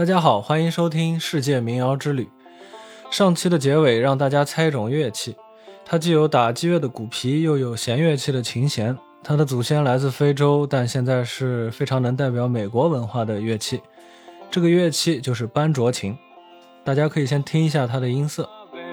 大家好，欢迎收听世界民谣之旅。上期的结尾让大家猜一种乐器，它既有打击乐的鼓皮，又有弦乐器的琴弦。它的祖先来自非洲，但现在是非常能代表美国文化的乐器。这个乐器就是班卓琴，大家可以先听一下它的音色。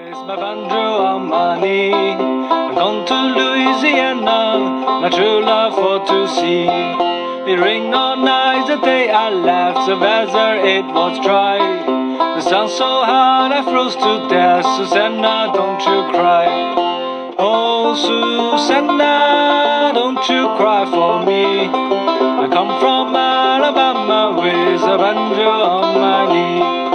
It rained all night, the day I left, the weather it was dry. The sun so hot I froze to death, Susanna, don't you cry. Oh, Susanna, don't you cry for me. I come from Alabama with a banjo on my knee.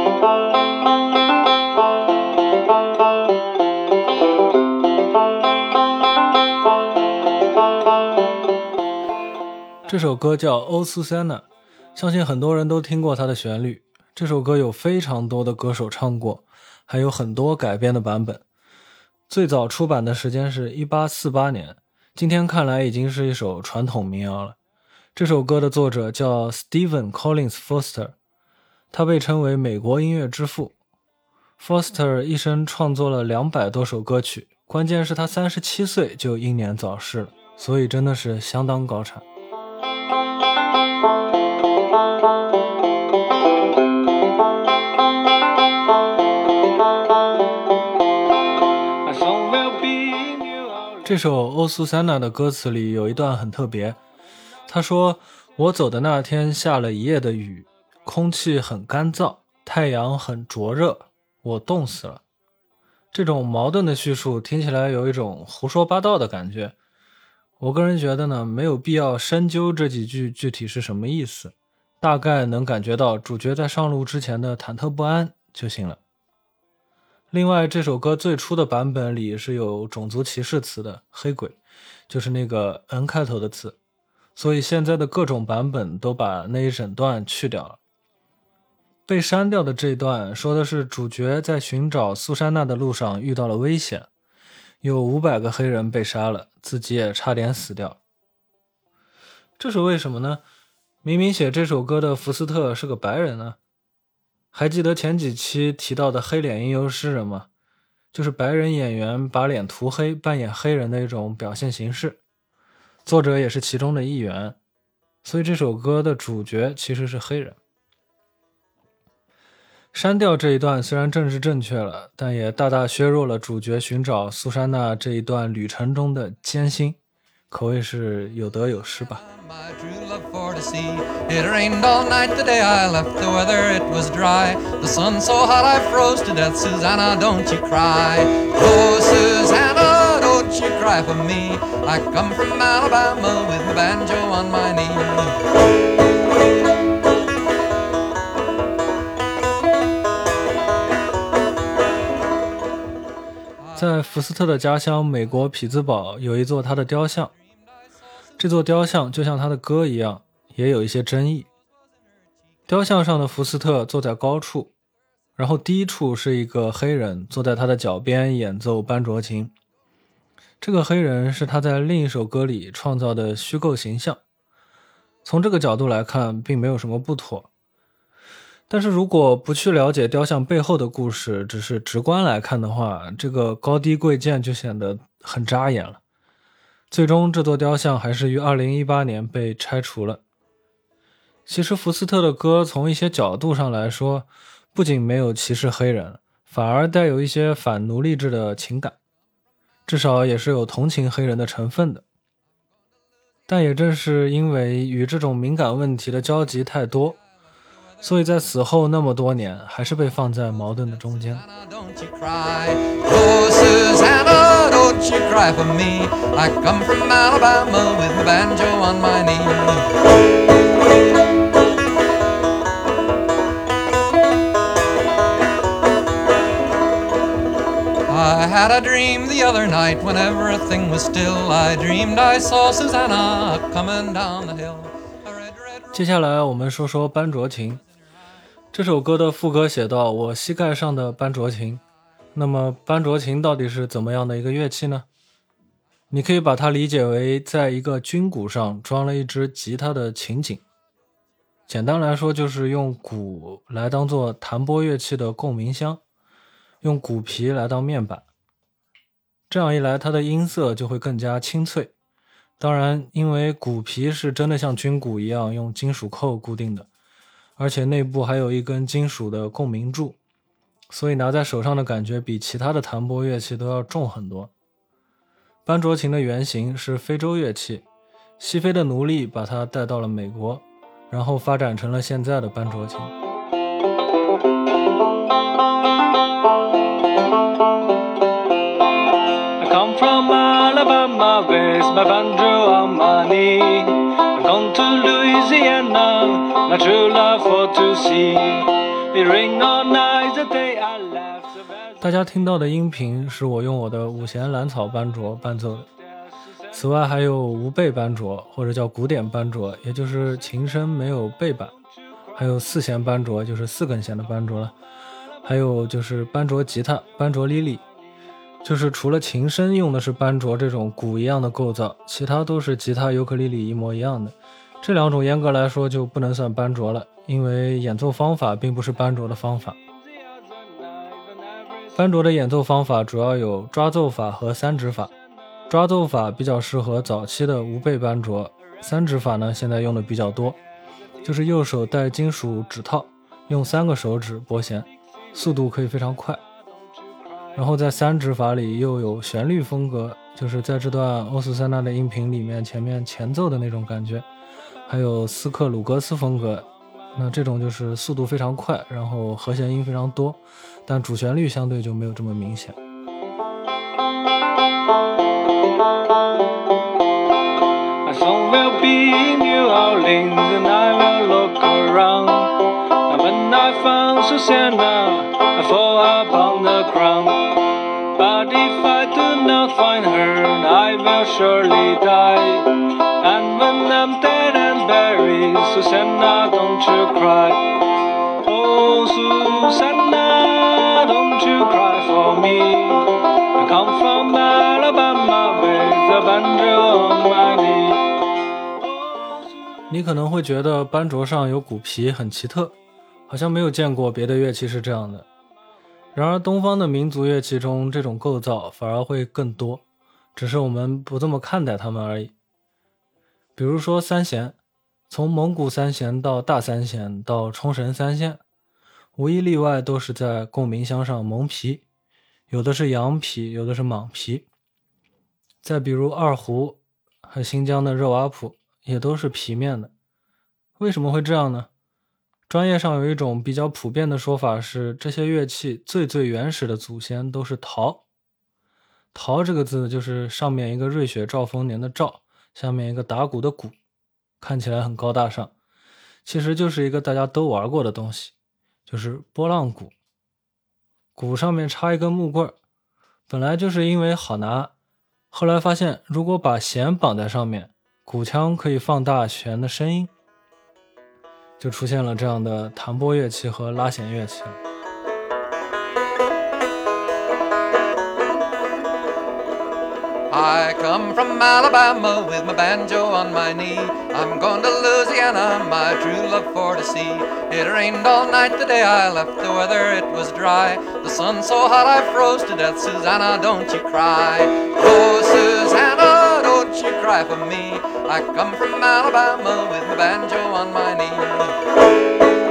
这首歌叫 Oh Susanna， 相信很多人都听过它的旋律。这首歌有非常多的歌手唱过，还有很多改编的版本。最早出版的时间是1848年，今天看来已经是一首传统民谣了。这首歌的作者叫 Stephen Collins Foster， 他被称为美国音乐之父。Foster 一生创作了200多首歌曲，关键是他37岁就英年早逝了，所以真的是相当高产。这首 Oh Susanna 的歌词里有一段很特别，他说，我走的那天下了一夜的雨，空气很干燥，太阳很灼热，我冻死了。这种矛盾的叙述听起来有一种胡说八道的感觉。我个人觉得呢，没有必要深究这几句具体是什么意思，大概能感觉到主角在上路之前的忐忑不安就行了。另外，这首歌最初的版本里是有种族歧视词的，黑鬼，就是那个 N 开头的词，所以现在的各种版本都把那一整段去掉了。被删掉的这一段说的是主角在寻找苏珊娜的路上遇到了危险，有500个黑人被杀了，自己也差点死掉。这是为什么呢？明明写这首歌的福斯特是个白人呢。还记得前几期提到的黑脸吟游诗人吗？就是白人演员把脸涂黑扮演黑人的一种表现形式，作者也是其中的一员，所以这首歌的主角其实是黑人。删掉这一段虽然政治正确了，但也大大削弱了主角寻找苏珊娜这一段旅程中的艰辛，可谓是有得有失吧。 My true love for to see. It rained all night the day I left, the weather it was dry. The sun so hot I froze to death, Susanna, don't you cry. Oh, Susanna, don't you cry for me. I come from Alabama with my banjo on my knee. 在福斯特的家乡美国匹兹堡有一座他的雕像，这座雕像就像他的歌一样，也有一些争议。雕像上的福斯特坐在高处，然后低处是一个黑人坐在他的脚边演奏班卓琴。这个黑人是他在另一首歌里创造的虚构形象，从这个角度来看并没有什么不妥。但是如果不去了解雕像背后的故事，只是直观来看的话，这个高低贵贱就显得很扎眼了。最终这座雕像还是于2018年被拆除了。其实福斯特的歌从一些角度上来说，不仅没有歧视黑人，反而带有一些反奴隶制的情感，至少也是有同情黑人的成分的。但也正是因为与这种敏感问题的交集太多，所以在死后那么多年还是被放在矛盾的中间。 Don't you cry. Oh, Susanna, don't you cry for me. I come from Alabama with my banjo on my knee. I had a dream the other night when everything was still. I dreamed I saw Susanna coming down the hill. 接下来我们说说班卓琴。这首歌的副歌写道，我膝盖上的班卓琴。那么班卓琴到底是怎么样的一个乐器呢？你可以把它理解为在一个军鼓上装了一支吉他的琴颈。 简单来说就是用鼓来当做弹拨乐器的共鸣箱，用鼓皮来当面板，这样一来它的音色就会更加清脆。当然因为鼓皮是真的像军鼓一样用金属扣固定的，而且内部还有一根金属的共鸣柱，所以拿在手上的感觉比其他的弹拨乐器都要重很多。班卓琴的原型是非洲乐器，西非的奴隶把它带到了美国，然后发展成了现在的班卓琴。 I come from Alabama with my banjo on my knee. I'm gone to Louisiana, my true love for to see. It rained all night the day I left. 大家听到的音频是我用我的五弦蓝草班卓伴奏的。此外还有无背班卓，或者叫古典班卓，也就是琴身没有背板，还有四弦班卓，就是4根弦的班卓了，还有就是班卓吉他、班卓莉莉，就是除了琴身用的是班卓这种鼓一样的构造，其他都是吉他、尤克里里一模一样的。这两种严格来说就不能算班卓了，因为演奏方法并不是班卓的方法。班卓的演奏方法主要有抓奏法和三指法。抓奏法比较适合早期的无背班卓，三指法呢现在用的比较多，就是右手戴金属指套，用3个手指拨弦，速度可以非常快。然后在三指法里又有旋律风格，就是在这段欧苏珊娜的音频里面前面前奏的那种感觉，还有斯克鲁格斯风格，那这种就是速度非常快，然后和弦音非常多，但主旋律相对就没有这么明显。 My song will be in New Orleans and I will look around. And when I found Susanna, I fall upon the ground. But if I do not find her, I will surely die. And when I'm dead and buried, Susanna, don't you cry. Oh, Susanna, don't you cry for me. I come from Alabama with a banjo on my knee. 你可能会觉得班卓上有鼓皮很奇特，好像没有见过别的乐器是这样的。然而东方的民族乐器中这种构造反而会更多，只是我们不这么看待它们而已。比如说三弦，从蒙古三弦到大三弦到冲绳三线，无一例外都是在共鸣箱上蒙皮，有的是羊皮，有的是蟒皮。再比如二胡和新疆的热瓦普也都是皮面的。为什么会这样呢？专业上有一种比较普遍的说法是，这些乐器最原始的祖先都是陶。陶这个字就是上面一个瑞雪兆丰年的兆，下面一个打鼓的鼓，看起来很高大上，其实就是一个大家都玩过的东西，就是拨浪鼓。鼓上面插一根木棍，本来就是因为好拿，后来发现如果把弦绑在上面，鼓腔可以放大弦的声音，就出现了这样的弹拨乐器和拉弦乐器了。 I come from Alabama with my banjo on my knee. I'm going to Louisiana, my true love for to see. It rained all night the day I left, the weather it was dry. The sun so hot I froze to death, Susanna, don't you cry. Oh, Susanna, don't you cry for me. I come from Alabama with my banjo on my knee.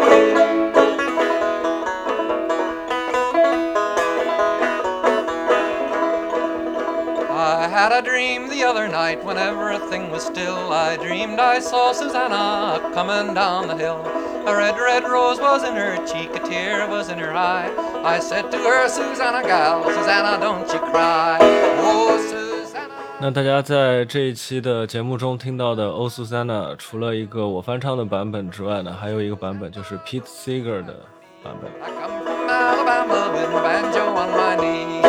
I had a dream the other night when everything was still. I dreamed I saw Susanna coming down the hill. A red, red rose was in her cheek, a tear was in her eye. I said to her, Susanna gal, Susanna, don't you cry. Oh, Susanna. 那大家在这一期的节目中听到的欧苏珊娜，除了一个我翻唱的版本之外呢，还有一个版本就是 Pete Seeger 的版本。 I come from Alabama with my banjo on my knee.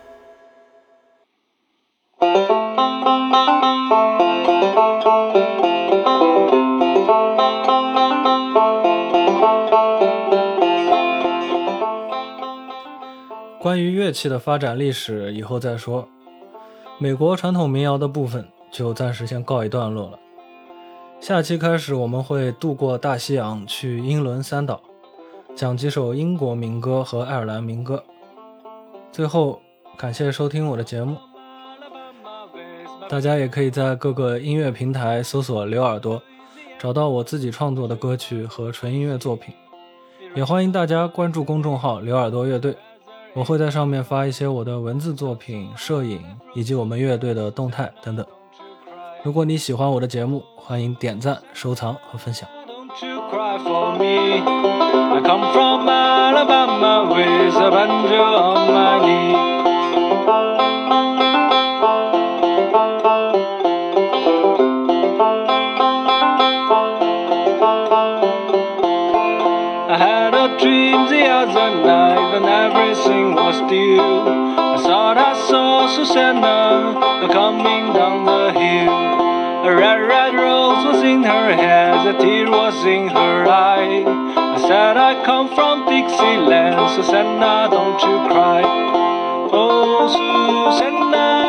关于乐器的发展历史以后再说，美国传统民谣的部分就暂时先告一段落了。 下期开始我们会渡过大西洋去英伦三岛，讲几首英国民歌和爱尔兰民歌。最后感谢收听我的节目，大家也可以在各个音乐平台搜索刘耳朵，找到我自己创作的歌曲和纯音乐作品。也欢迎大家关注公众号刘耳朵乐队，我会在上面发一些我的文字作品、摄影以及我们乐队的动态等等。如果你喜欢我的节目，欢迎点赞、收藏和分享。 Don't you cry for me. I come from Alabama with a banjo on my knee. I had a dream the other night when everything was still. I thought I saw Susanna coming down the hill. A red rose was in her hair, a tear was in her eye. I said I come from Dixieland, Susanna, don't you cry. Oh, Susanna.